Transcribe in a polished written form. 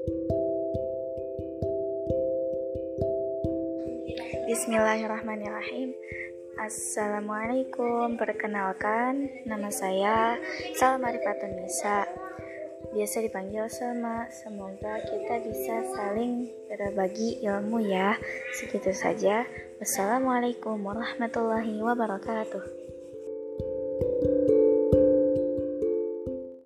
Bismillahirrahmanirrahim. Assalamualaikum. Perkenalkan, nama saya Salma Rifatun Nisa, biasa dipanggil Selma. Semoga kita bisa saling berbagi ilmu ya. Segitu saja. Wassalamualaikum warahmatullahi wabarakatuh.